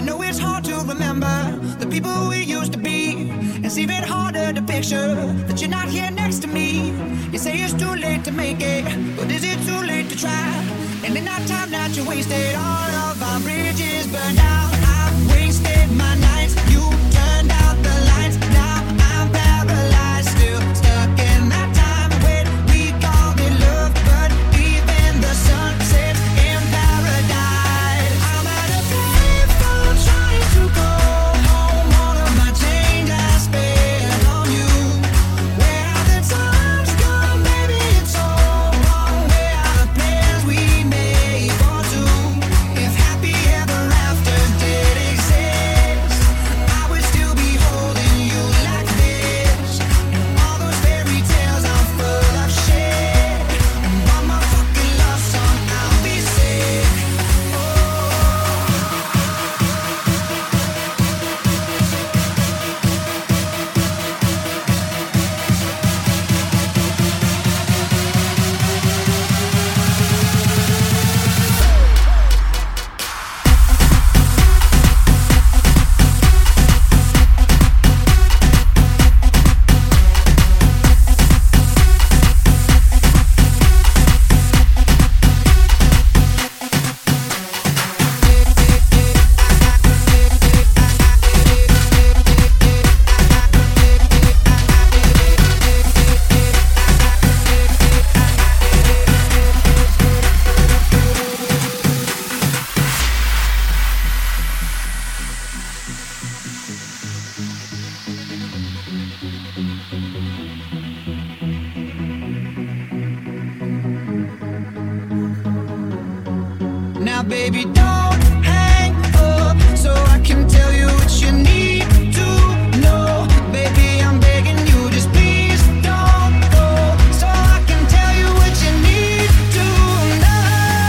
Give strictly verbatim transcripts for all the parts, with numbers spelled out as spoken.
know it's hard to remember the people we used to be. It's even harder to picture that you're not here next to me. You say it's too late to make it, but is it too late to try? And in that time that you wasted, all of our bridges burned out. I've wasted my nights, you turned out the lights. Now I'm paralyzed, still stuck in that time when we called it love, but even the sun sets in paradise. I'm at a payphone trying to go home. All of my change I spent on you. Where have the times gone? Maybe it's all wrong. Where are the plans we made for two? If happy ever after did exist, I would still be holding you like this. And all those fairy tales are full of shit. And one more fucking love song, I'll be sick. Now, baby, don't hang up so I can tell you what you need to know. Baby, I'm begging you, just please don't go so I can tell you what you need to know.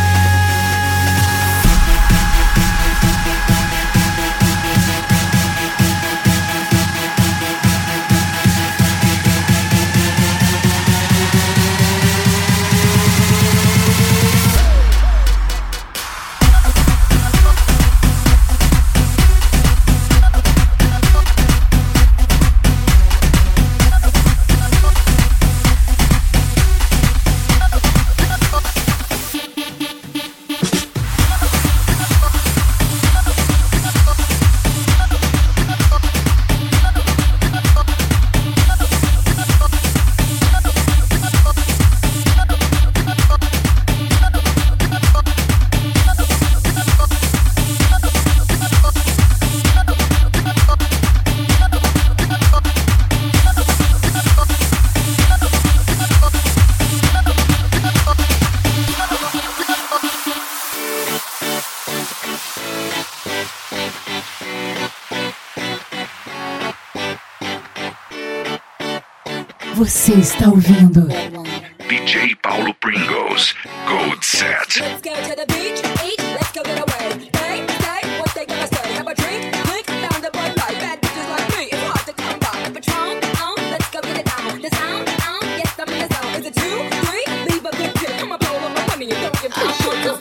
Você está ouvindo D J Paulo Pringles, Gold Set. Let's go to the beach, eat, let's go get away. Hey, say, what they gonna say? Have a drink, click, down the Bud Light. Bad bitches like me, it's hard to come by. Patron, on, let's go get it down. The sound, on, yes, I'm in the zone. Is it two, three? Leave a good tip. Come on, blow on my money and don't give two shit.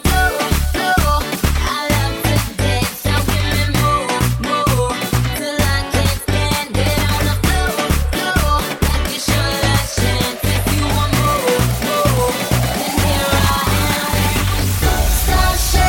Start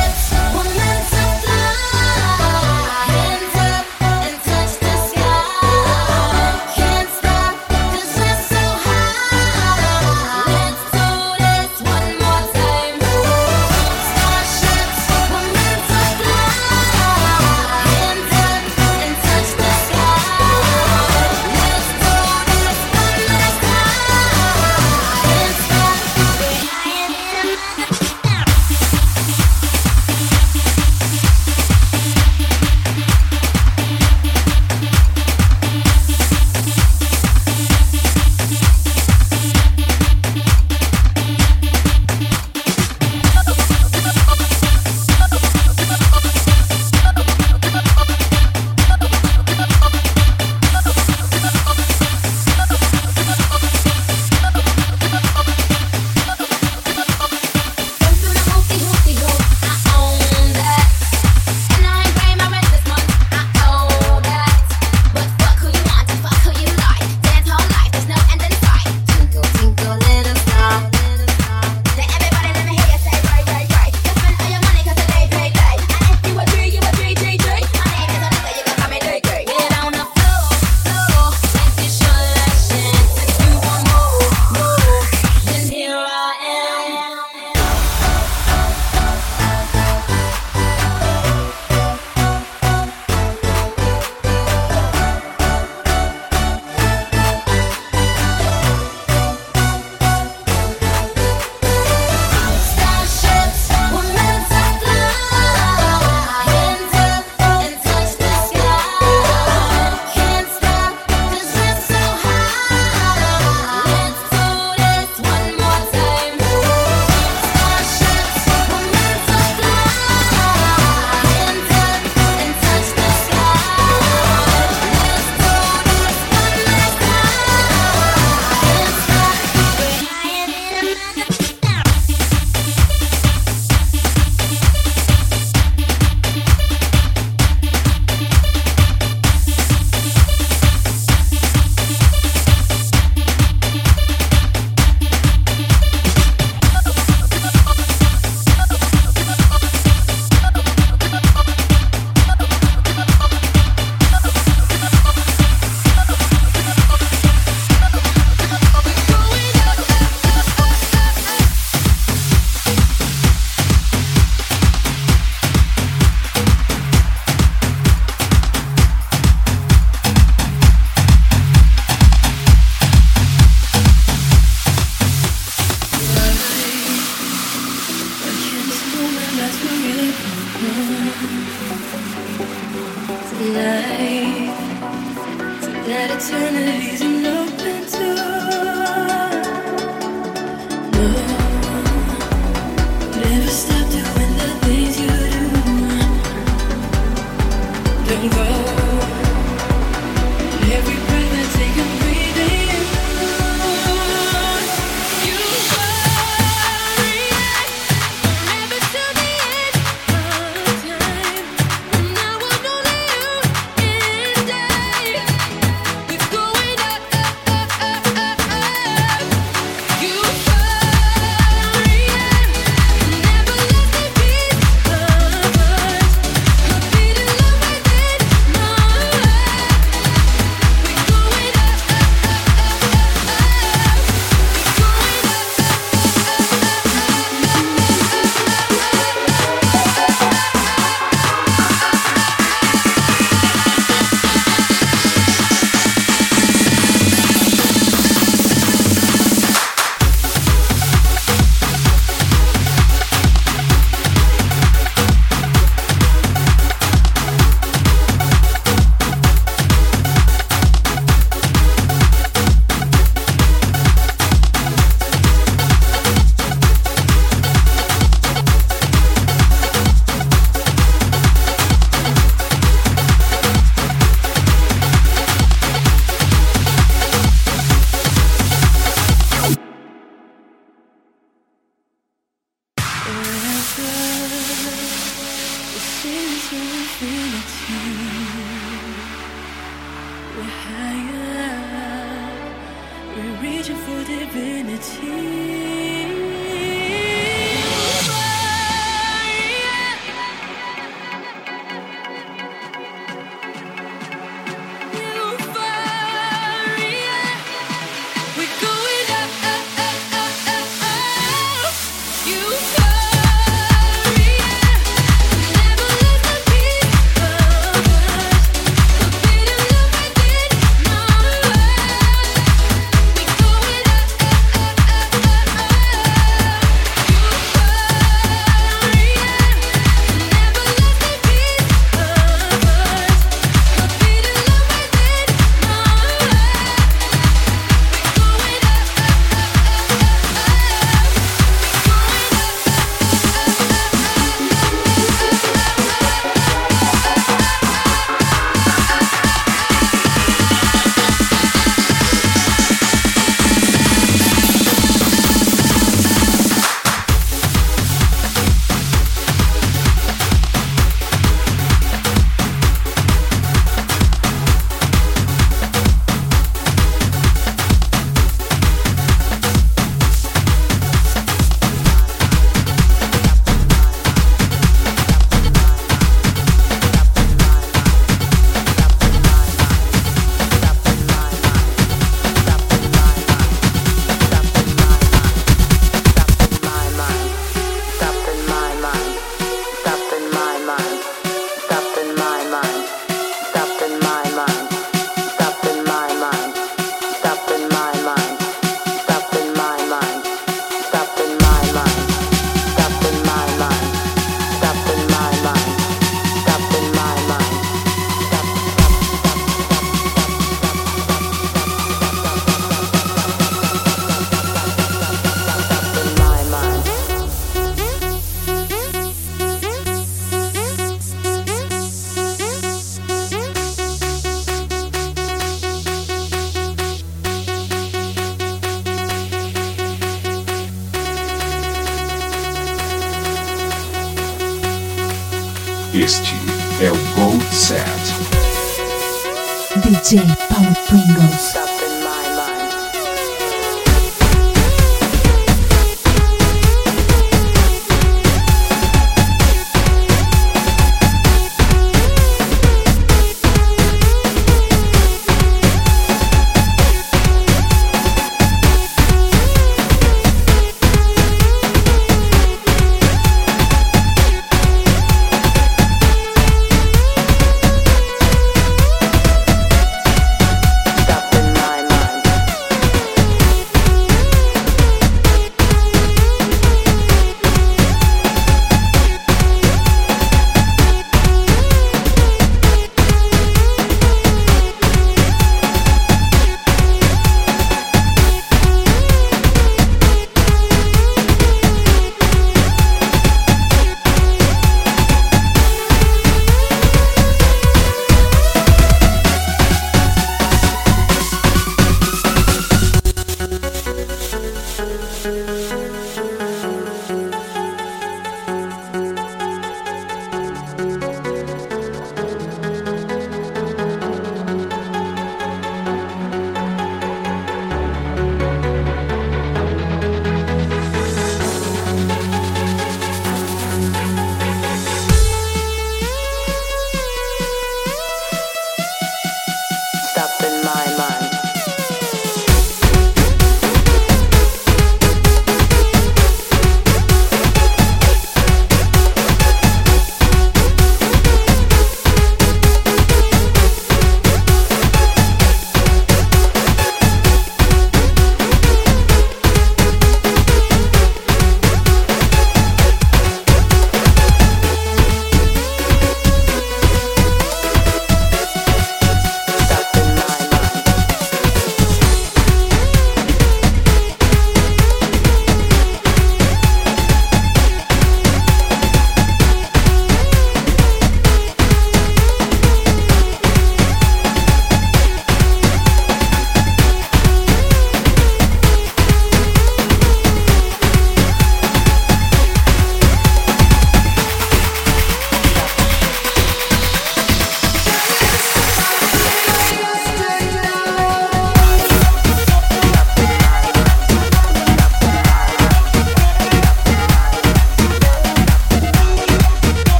life, so that eternity's an open door. No, never stop doing the things you do. Don't go. Every breath I take, I'm breathing. You worry forever till the end of time. And I will know that you and I, we're going up, up, up, up, up, up. You worry, never let the peace of us. My feet in love within my heart. We're going up, up, up, up, up, up. We're going up, up, up, up, up, up, up. Reaching for divinity. We're going up, up, up, up, up, up. Euphoria, never let the peace of us. A bit of love within my heart. We're going up, up, up, up, up, up. Euphoria, never let the peace of us. A bit of love within my heart. Este é o Gold Set. D J Paulo Pringles. Stop in my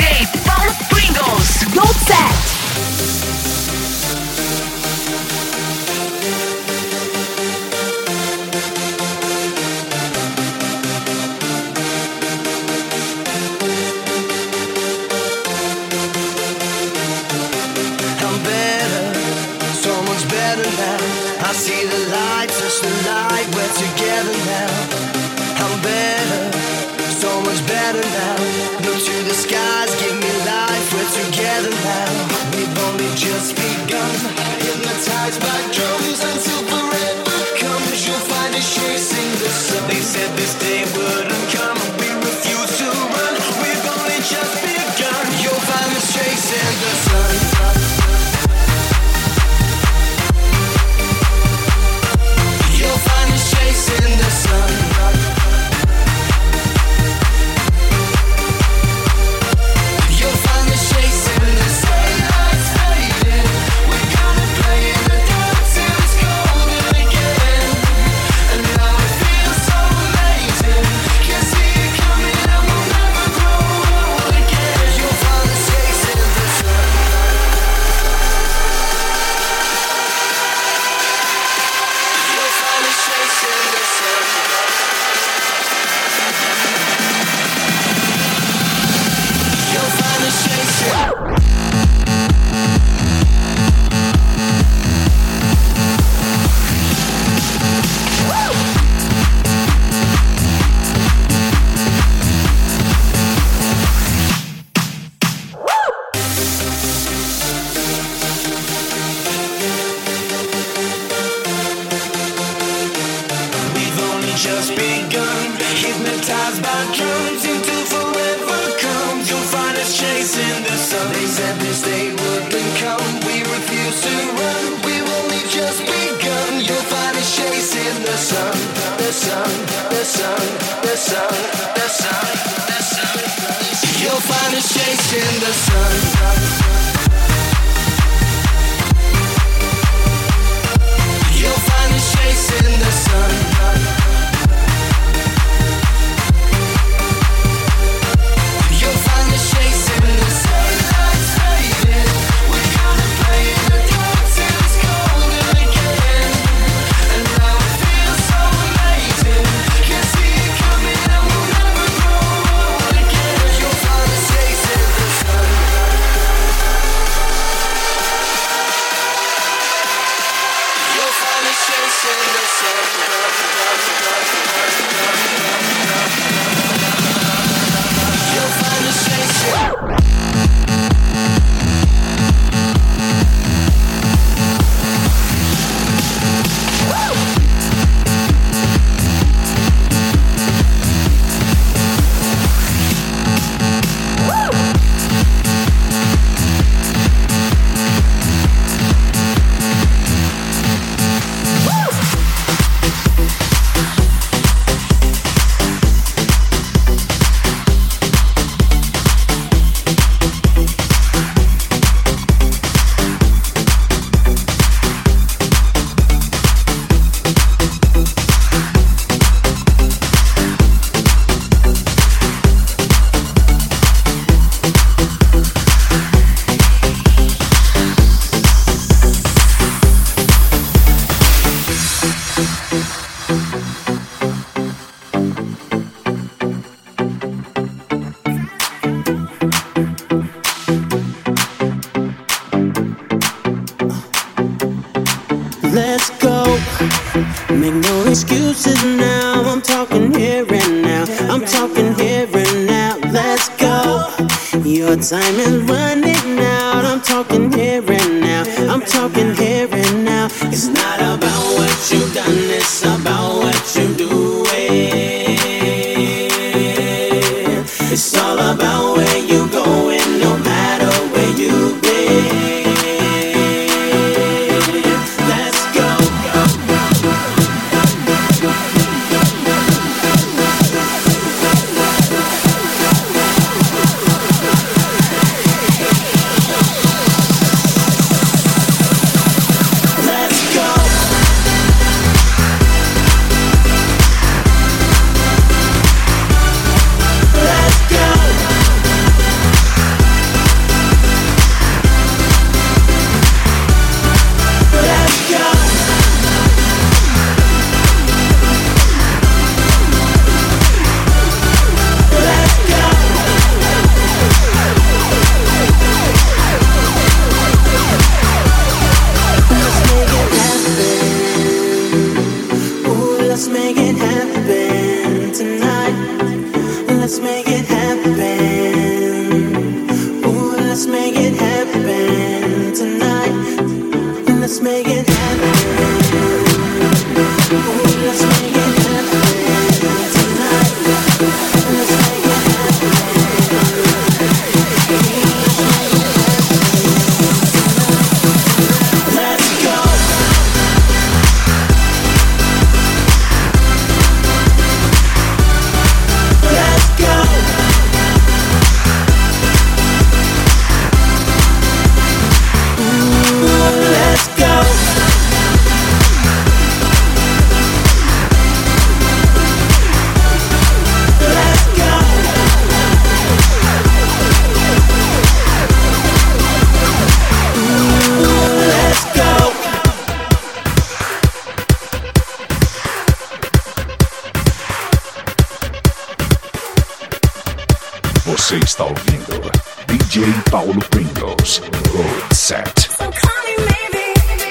J Paulo Pringles. Gold Set. I'm better, so much better now. I see the light, touch the light, we're together now. I'm better, so much better now. Look to the skies, give me life, we're together now. We've only just begun, hypnotized by drums until forever comes. You'll find us chasing the sun. They said this day wouldn't come, we refuse to run. We've only just begun. You'll find us chasing the sun. You'll find us chasing the sun. You'll find us chasing the sun. Daylight's fading. We're gonna play in the dark till it's golden again. And now it feels so amazing. Can see it coming and we'll never grow old again. You'll find us chasing the sun. You'll find us chasing the sun. You'll find us chasing. We've only just begun, hypnotized by drums until forever comes. You'll find us chasing the sun. They said this day wouldn't come, we refuse to run. We've only just begun. You'll find us chasing the sun, the sun, the sun, the sun, the sun, the sun. You'll find us chasing the sun. You'll find us chasing the sun. You'll find us chasing the sun. Daylight's fading. We're gonna play in the dark till it's golden again. And now it feels so amazing. Can see it coming and we'll never grow old again. You'll find us chasing the sun. You'll find us chasing the sun. You'll find us chasing. Let's go. Make no excuses now. I'm talking here and now. I'm talking here and now. Let's go. Your time is running out. I'm talking here and now. I'm talking here and now. It's not about what you've done, it's about what you're doing. It's all about where you're going, no matter where you've been. Let's go. Let's go. let's make it happen tonight. Let's make it happen. Ooh, let's make it happen tonight. Let's make it happen. Let's go. Let's go. Ooh, let's go. Você está ouvindo D J Paulo Pringles Road Set. So call me maybe.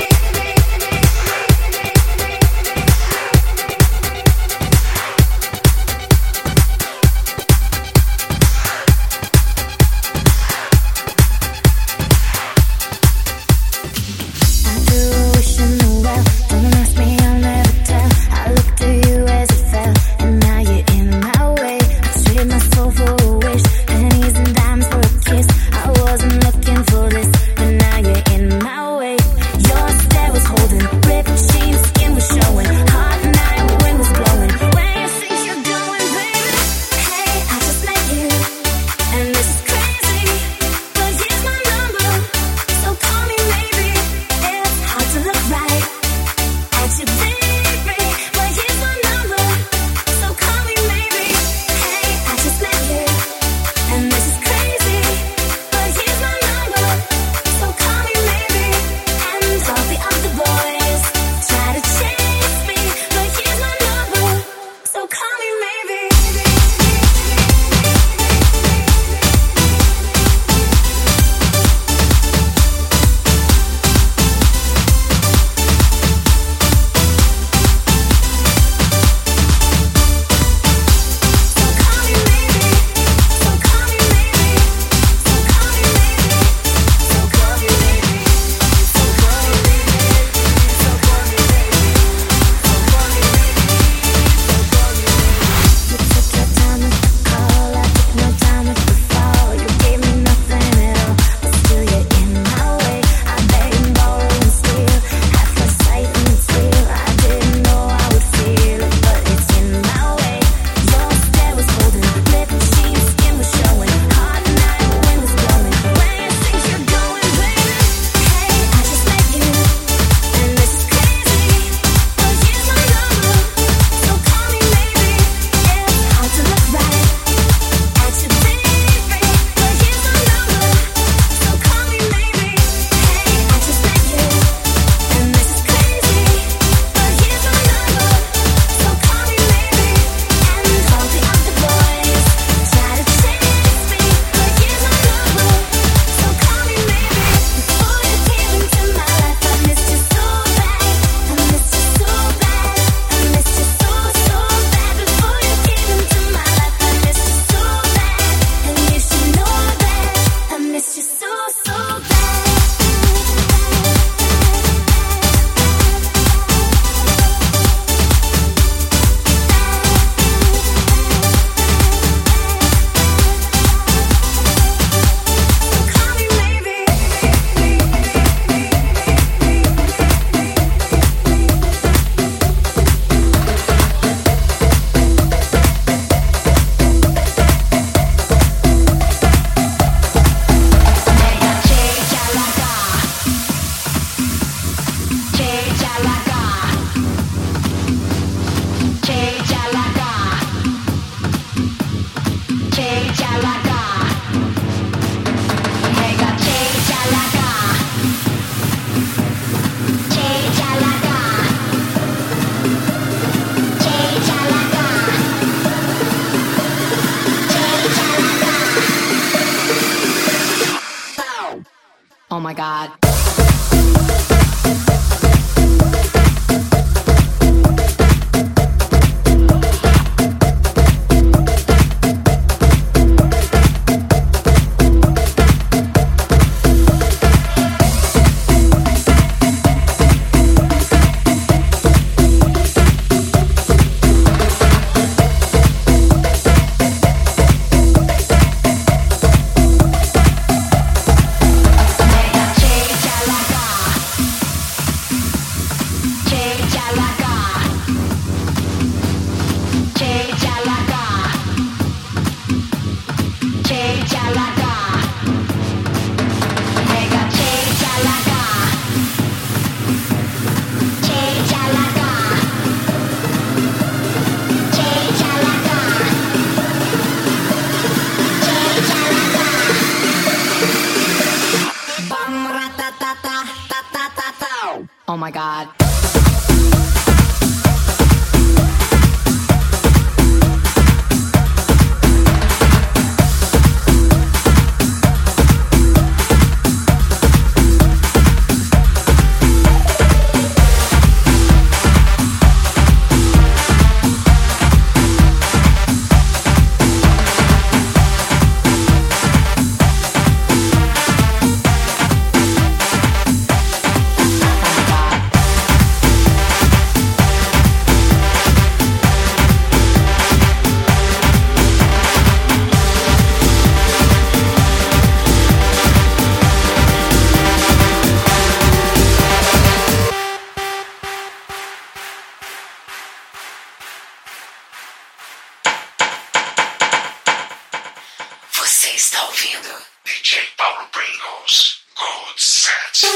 Oh my God. Oh my God. Você está ouvindo D J Paulo Pringles Gold Set.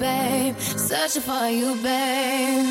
babe. Searching for you, babe.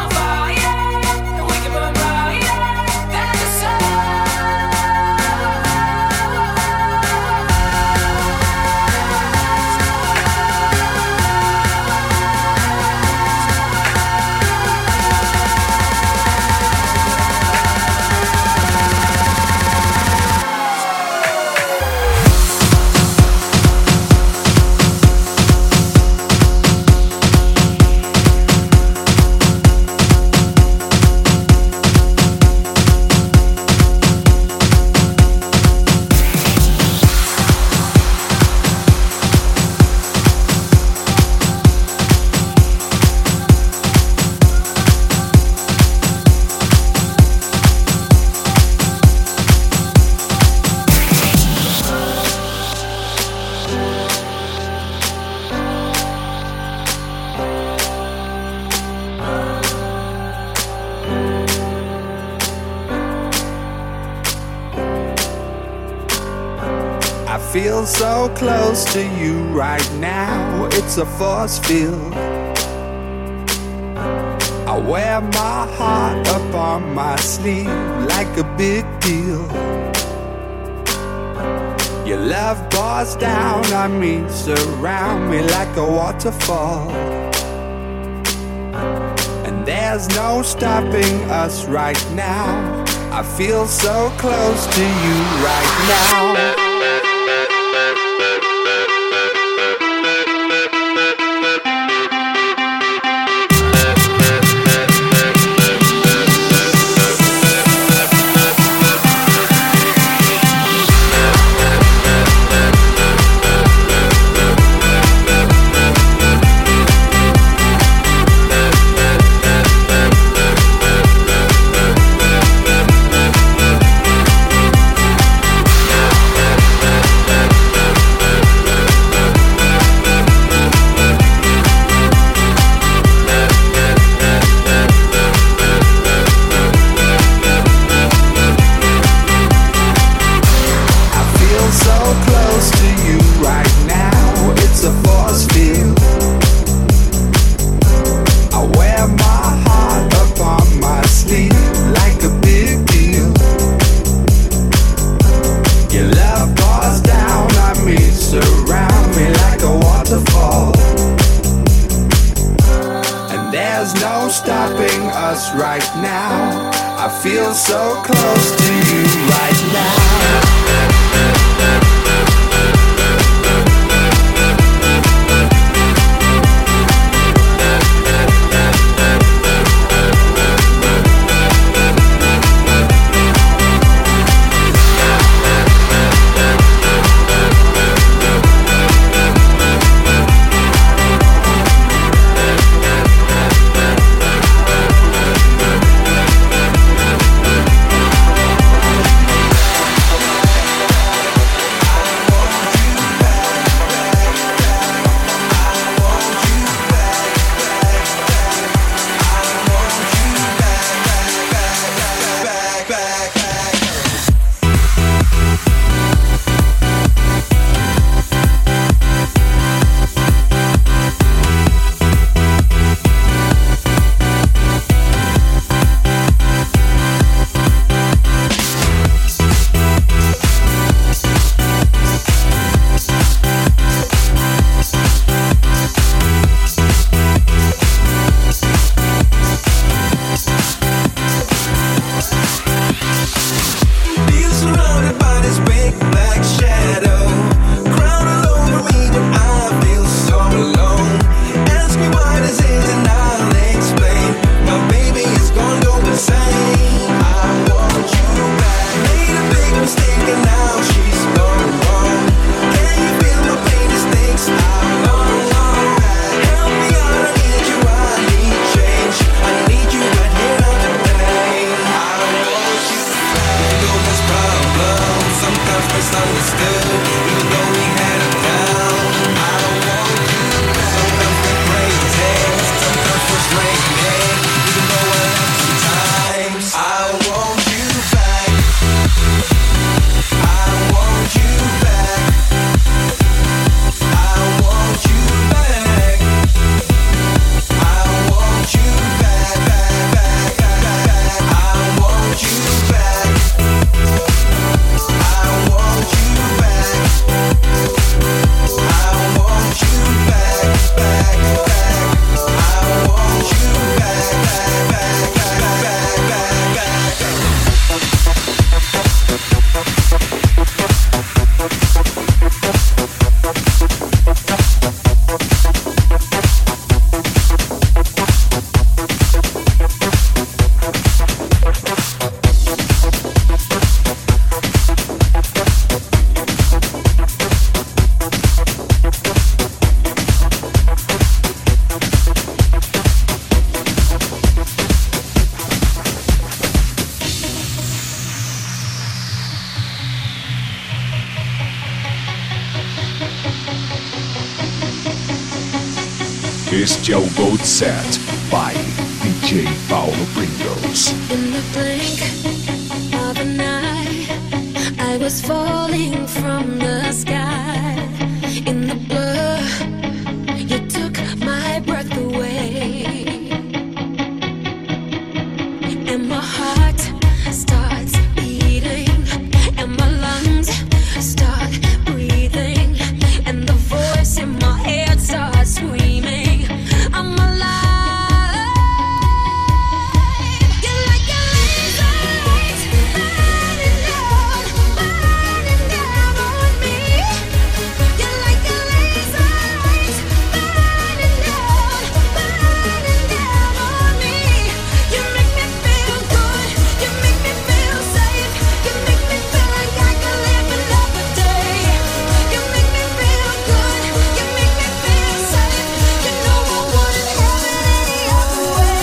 Fire, we can burn brighter than the sun. feel so close to you right now. It's a force field. I wear my heart up on my sleeve like a big deal. Your love pours down on me, surround me like a waterfall. And there's no stopping us right now. I feel so close to you right now. Right now, I feel so close to you right now. Este é o Gold Set by D J Paulo Pringles. In the blink of an eye, I was was falling from the sky. In the blur, you took my breath away, and my heart starts beating, and my lungs start breathing, and the voice in my head starts screaming, I'm alive. You're like a laser light burning down, burning down on me. You're like a laser light burning down, burning down on me. You make me feel good, you make me feel safe, you make me feel like I can live another day. You make me feel good, you make me feel safe. You know I wouldn't have it any other way.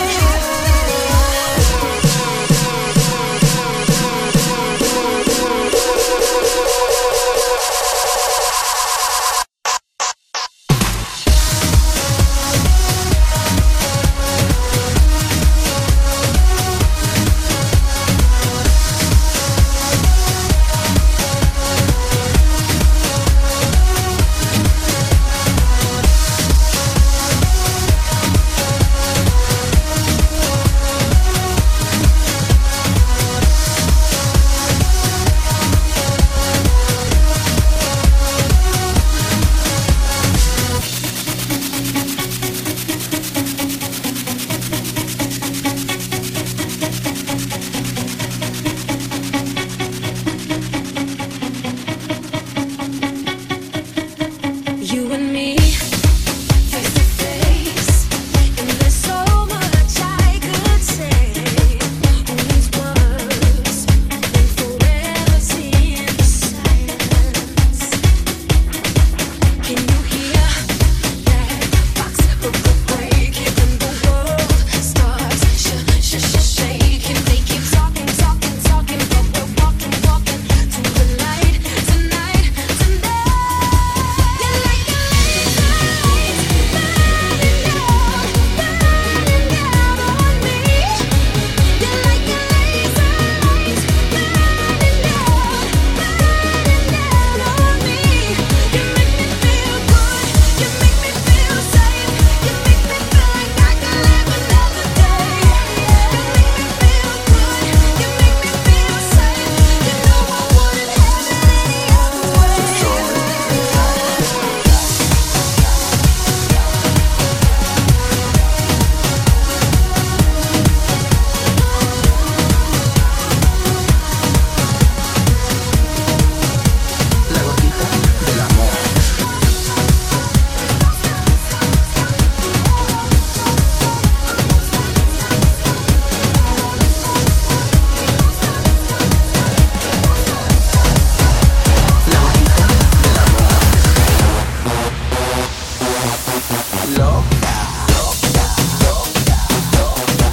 You and me, face to face, and there's so much I could say. These words will forever seem the silence. Can you hear that box break? And the world starts sh- sh- sh- shaking. They keep talking, talking, talking, but we're walking, walking to the light tonight, tonight. You're like a laser light burning down, burning down on me. You're like a laser light burning down, burning down on me. You make me feel good, you make me feel safe, you make me feel like I can live another day. You make me feel good, you make me feel safe. You know I wouldn't have it any other way. La gotita del amor. La gotita del amor. Loca, loca, loca, loca,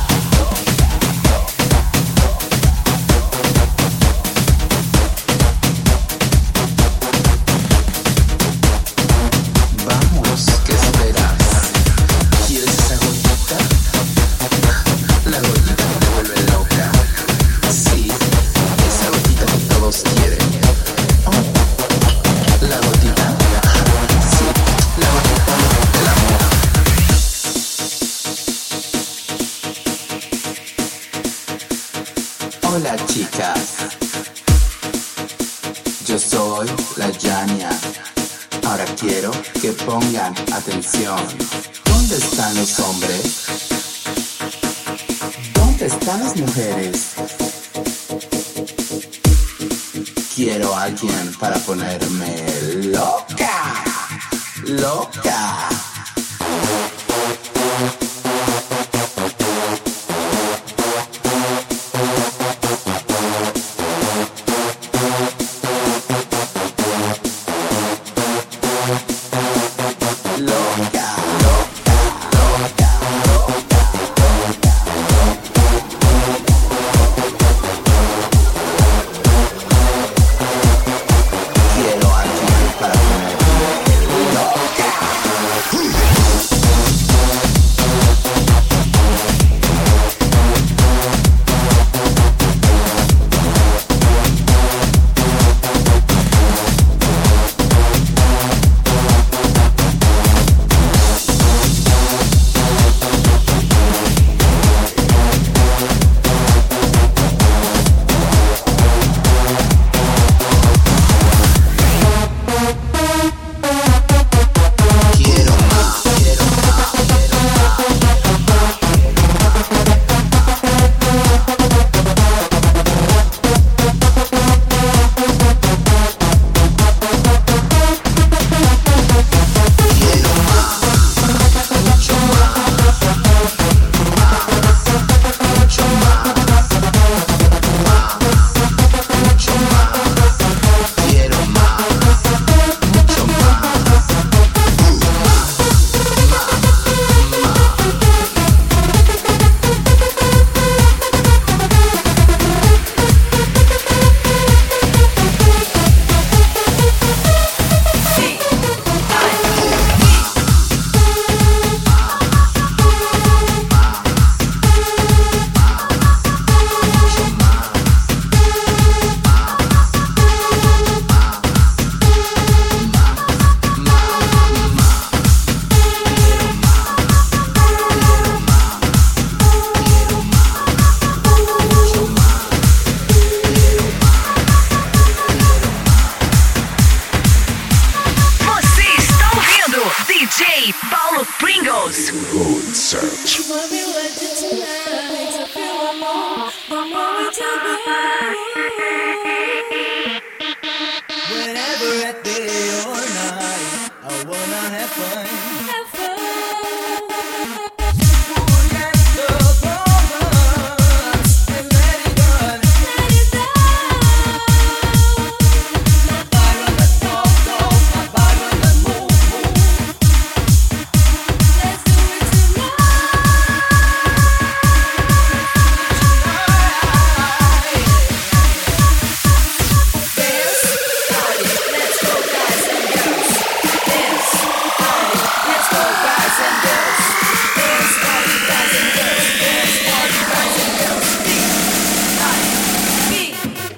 Vamos, ¿qué esperas? ¿Quieres esa gotita? La gotita que te vuelve loca. Sí, esa gotita que todos quieren. Oh, la gotita. Sí, la gotita del amor. Hola, chicas. Yo soy la Yania. Ahora quiero que pongan atención. ¿Dónde están los hombres? ¿Dónde están las mujeres? Quiero a alguien para ponerme loca, loca. Loca, loca, loca, loca, Quiero a alguien para ponerme loca. one more to go. Whenever at day or night, I wanna have fun. Have fun. Forget the problems and let it run. Let it go. My body on the talk, talk, my body on the move, move. Let's do it Dance, party, let's go guys and girls. Dance, party, let's go guys and girls. Dance, party, guys and girls. Dance, party, guys and girls. Beat, I, beat.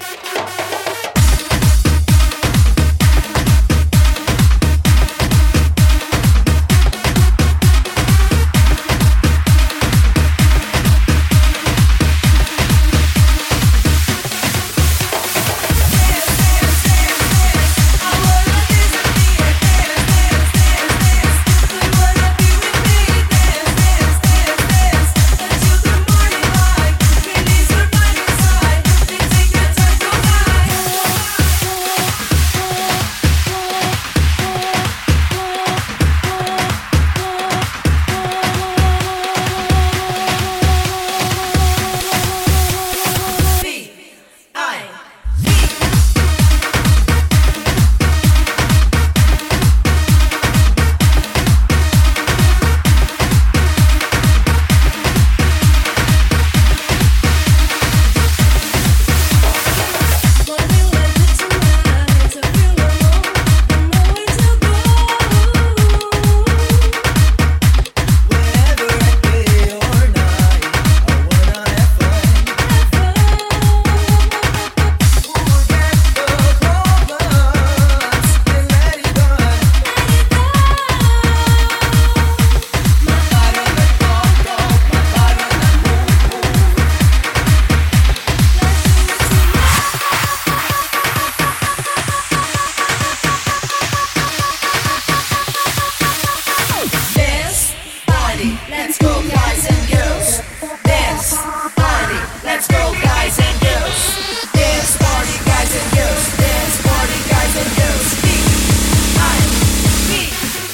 Dance, party, let's go guys and girls. Dance, party, let's go guys and girls. Dance, party, guys and girls. Dance, party, guys and girls. Beat, I, beat.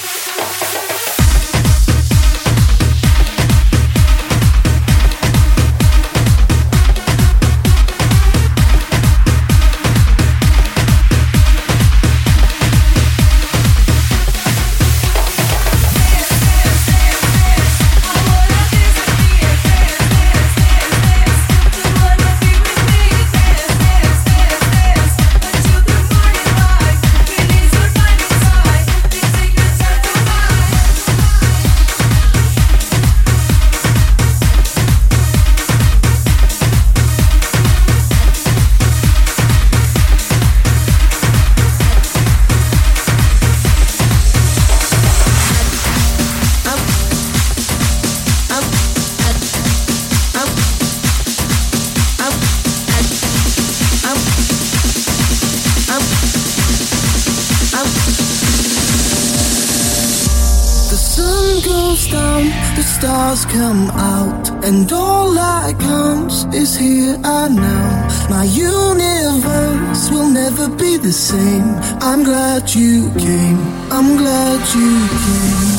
The sun goes down, the stars come out, and all that counts is here and now. My universe will never be the same. I'm glad you came, I'm glad you came.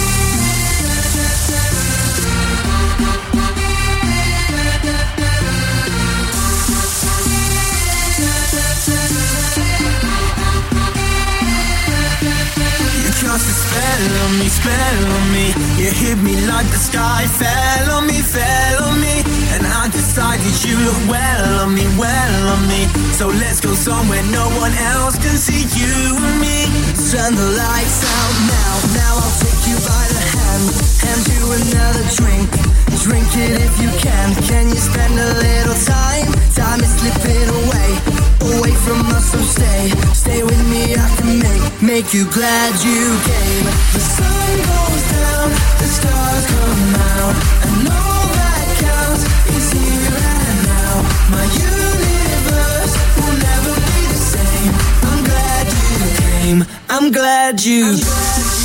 Cast a spell on me, spell on me. You hit me like the sky fell on me, fell on me. And I decided you look well on me, well on me. So let's go somewhere no one else can see you and me. Turn the lights out now, now I'll take you by the hand. Hand you another drink, drink it if you can. Can you spend a little time? Time is slipping away, away from us, so stay. Stay with me, I can make, make you glad you came. The sun goes down, the stars come out, and all that counts is here and now. My universe will never be the same. I'm glad you came, I'm glad you I'm glad you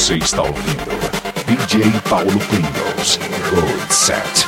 Você está ouvindo D J Paulo Pringles, Gold Set.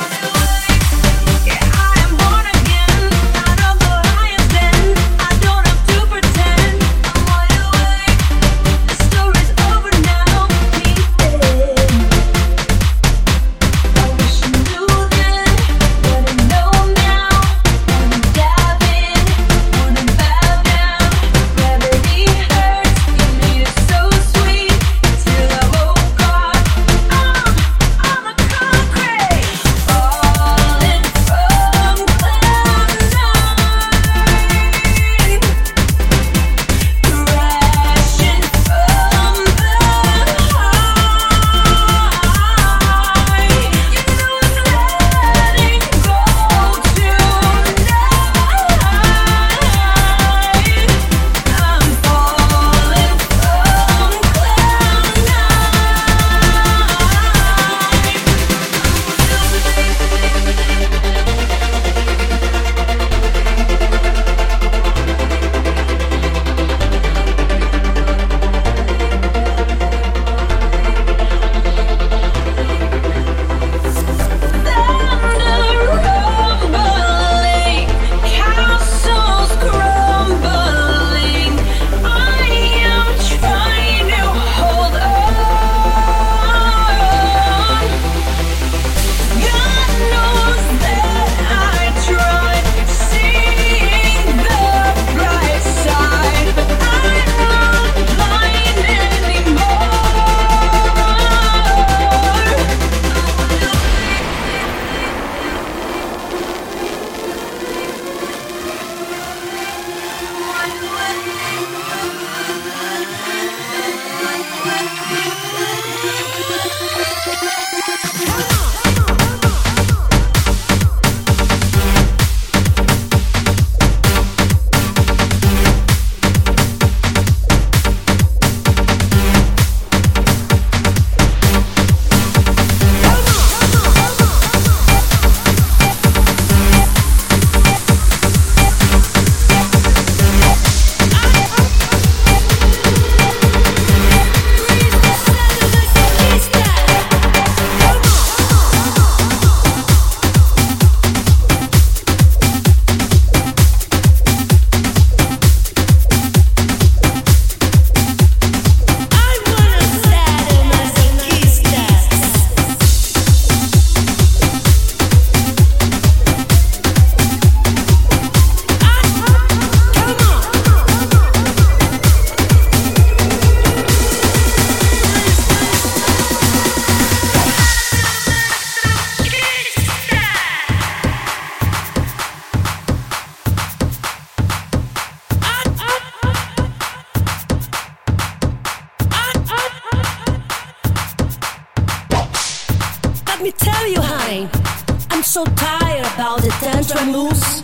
me tell you, honey, I'm so tired about the tantra moves,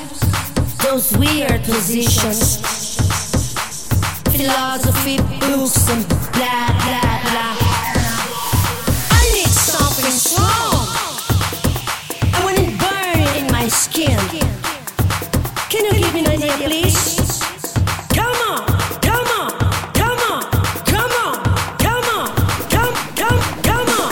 those weird positions, philosophy books and blah, blah, blah. I need something strong. I want it burning in my skin. Can you give me an idea, please? Come on, come on, come on, come on, come on, come, come, come on.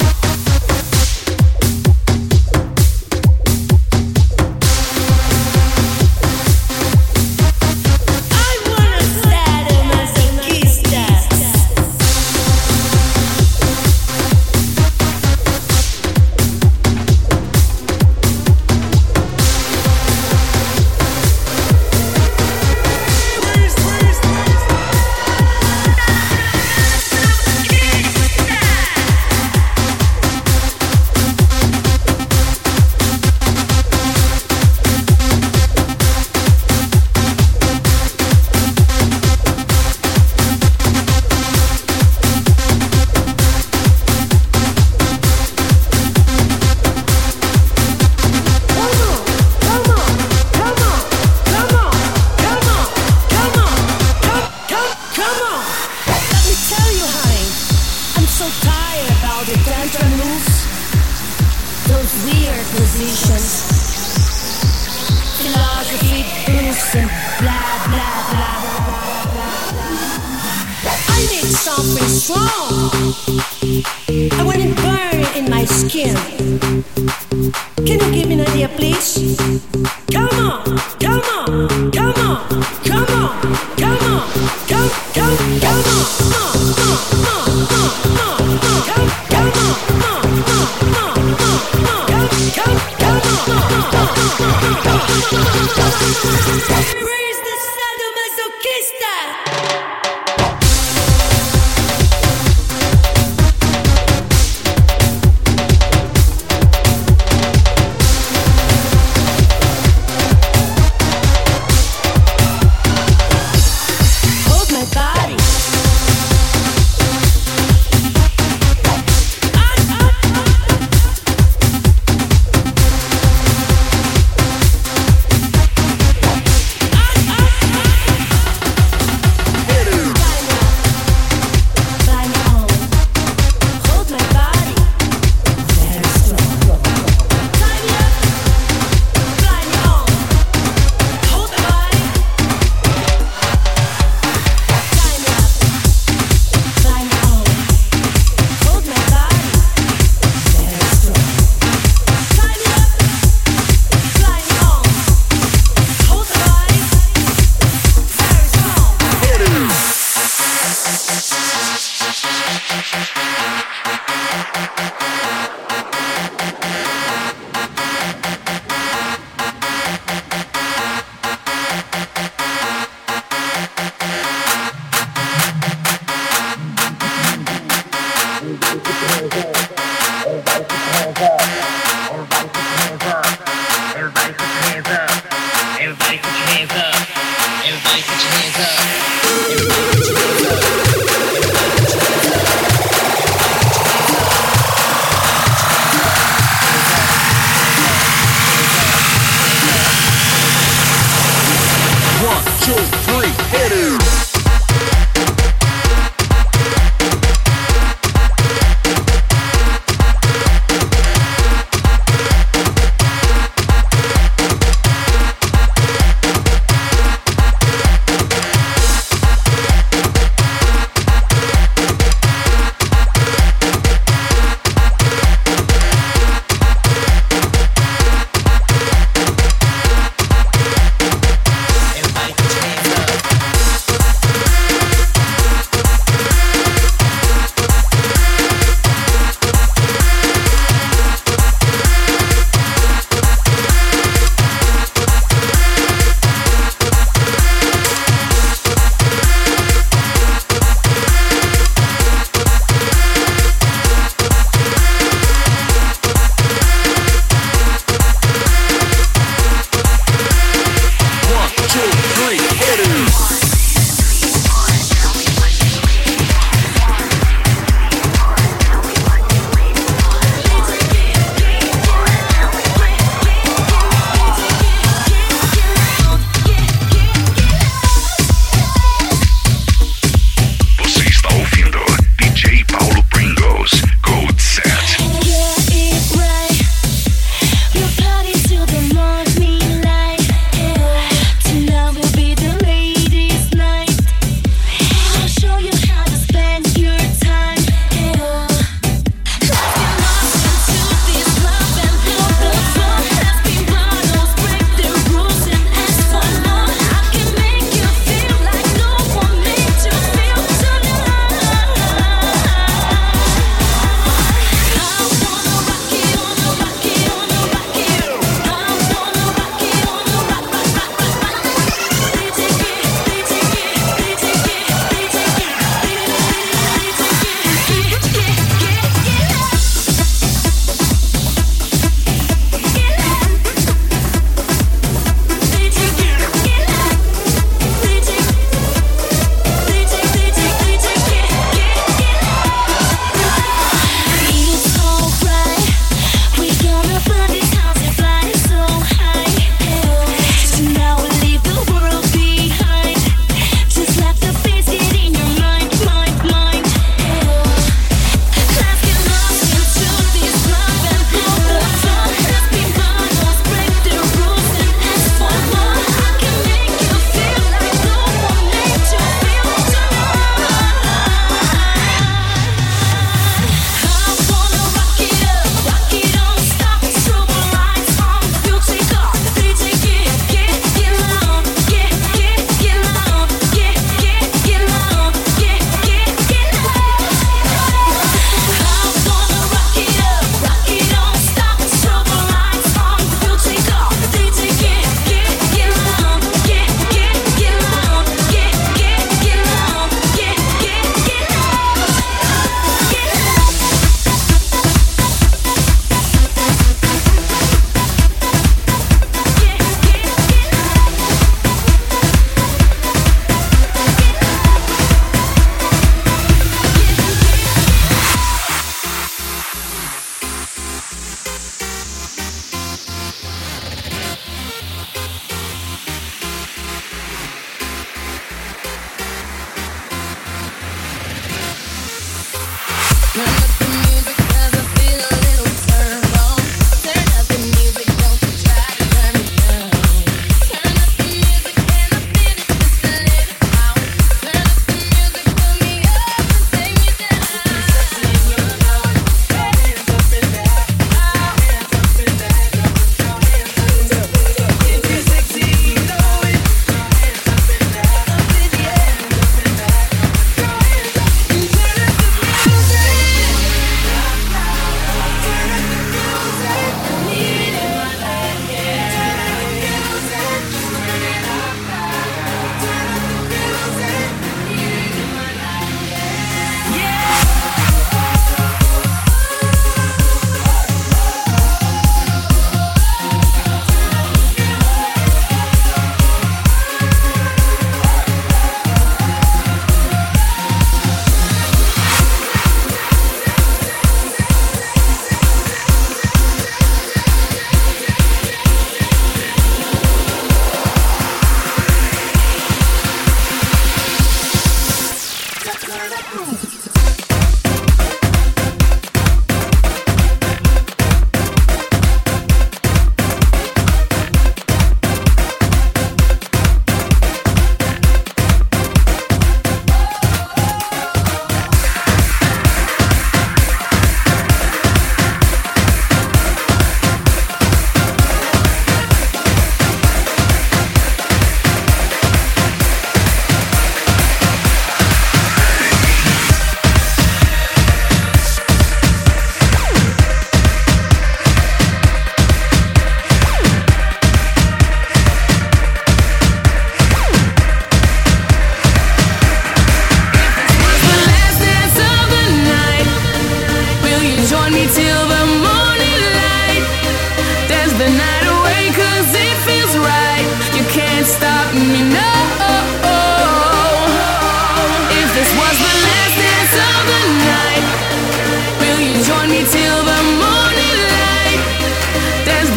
Masoquista. I want it burned in my skin. Can you give me an idea, please? Come on, come on, come on, come on, come on, come, come, come on, uh, uh, uh, uh, uh, uh, come, come on, uh, uh, uh, uh, uh, come, come, come on. Where's the sadomasochista?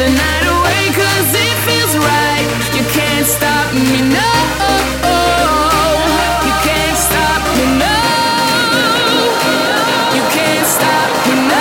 the night away 'cause it feels right. You can't stop me, no. You can't stop me, no. You can't stop me, no.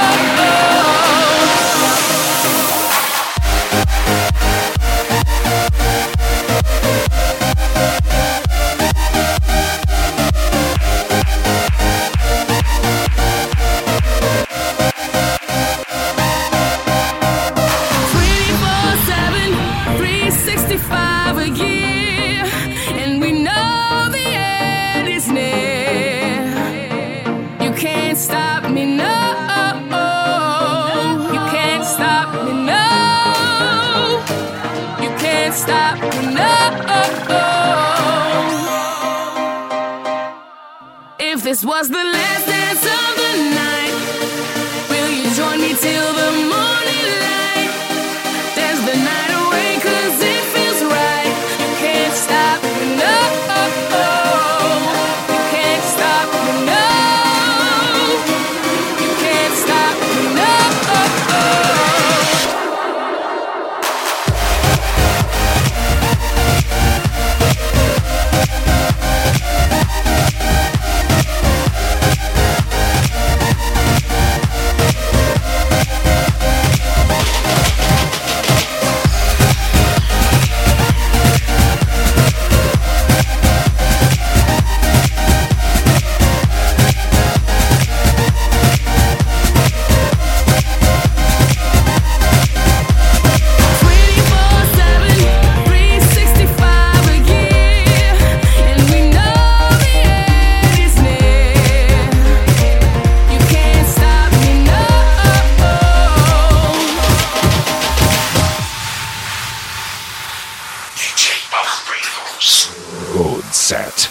If this was the last dance of the night, will you join me till the morning light? Dance the night away 'cause it feels right. You can't stop me, no. You can't stop me, no. You can't stop me, no. Good set.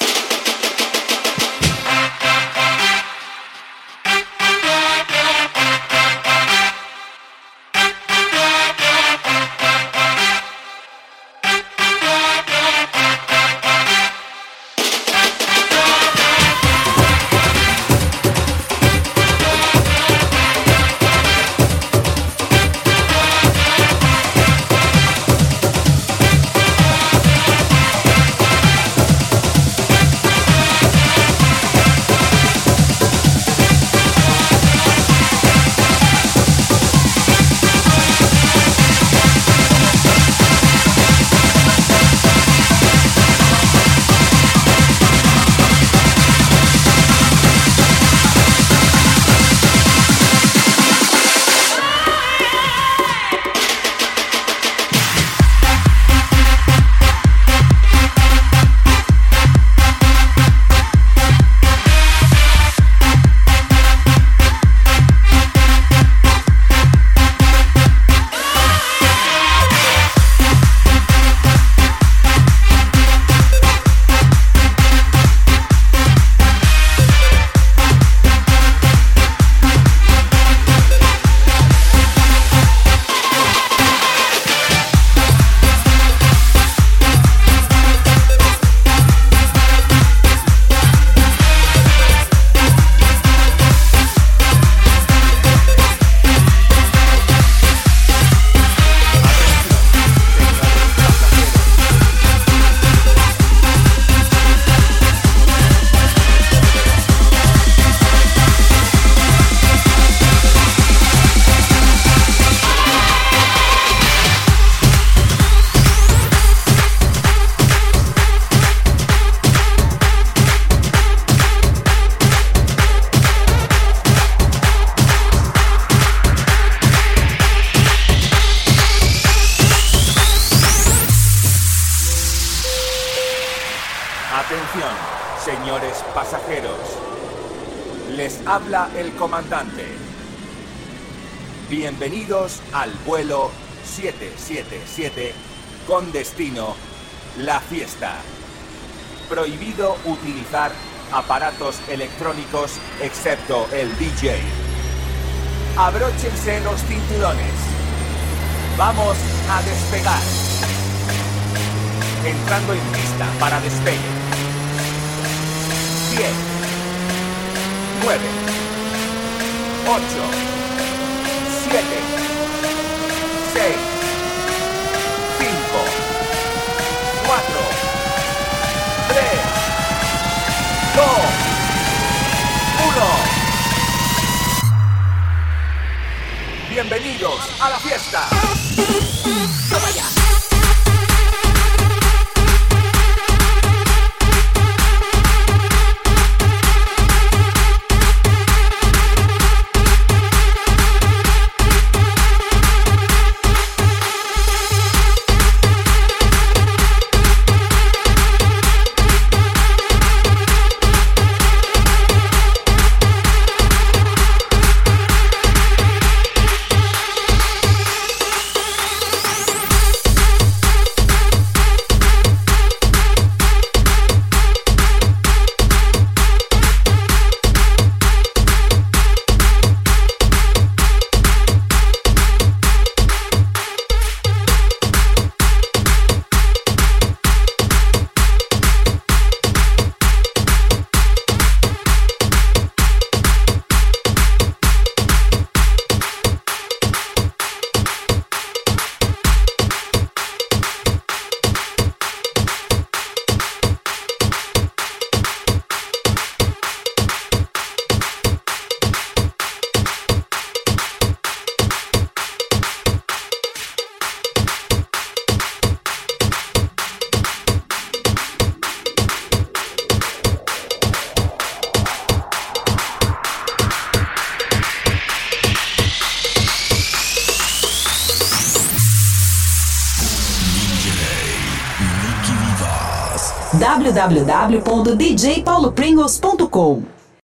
Atención, señores pasajeros. Les habla el comandante. Bienvenidos al vuelo siete siete siete con destino La Fiesta. Prohibido utilizar aparatos electrónicos excepto el D J. Abróchense los cinturones. Vamos a despegar. Entrando en pista para despegue. diez, nueve, ocho, siete, seis, Bienvenidos a la fiesta. Toma ya. w w w ponto d j paulo pringles ponto com